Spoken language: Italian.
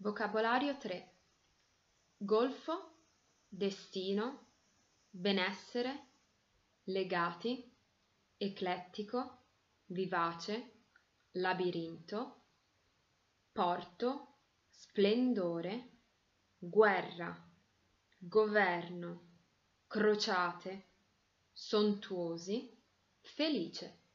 Vocabolario 3. Golfo, destino, benessere, legati, eclettico, vivace, labirinto, porto, splendore, guerra, governo, crociate, sontuosi, felice.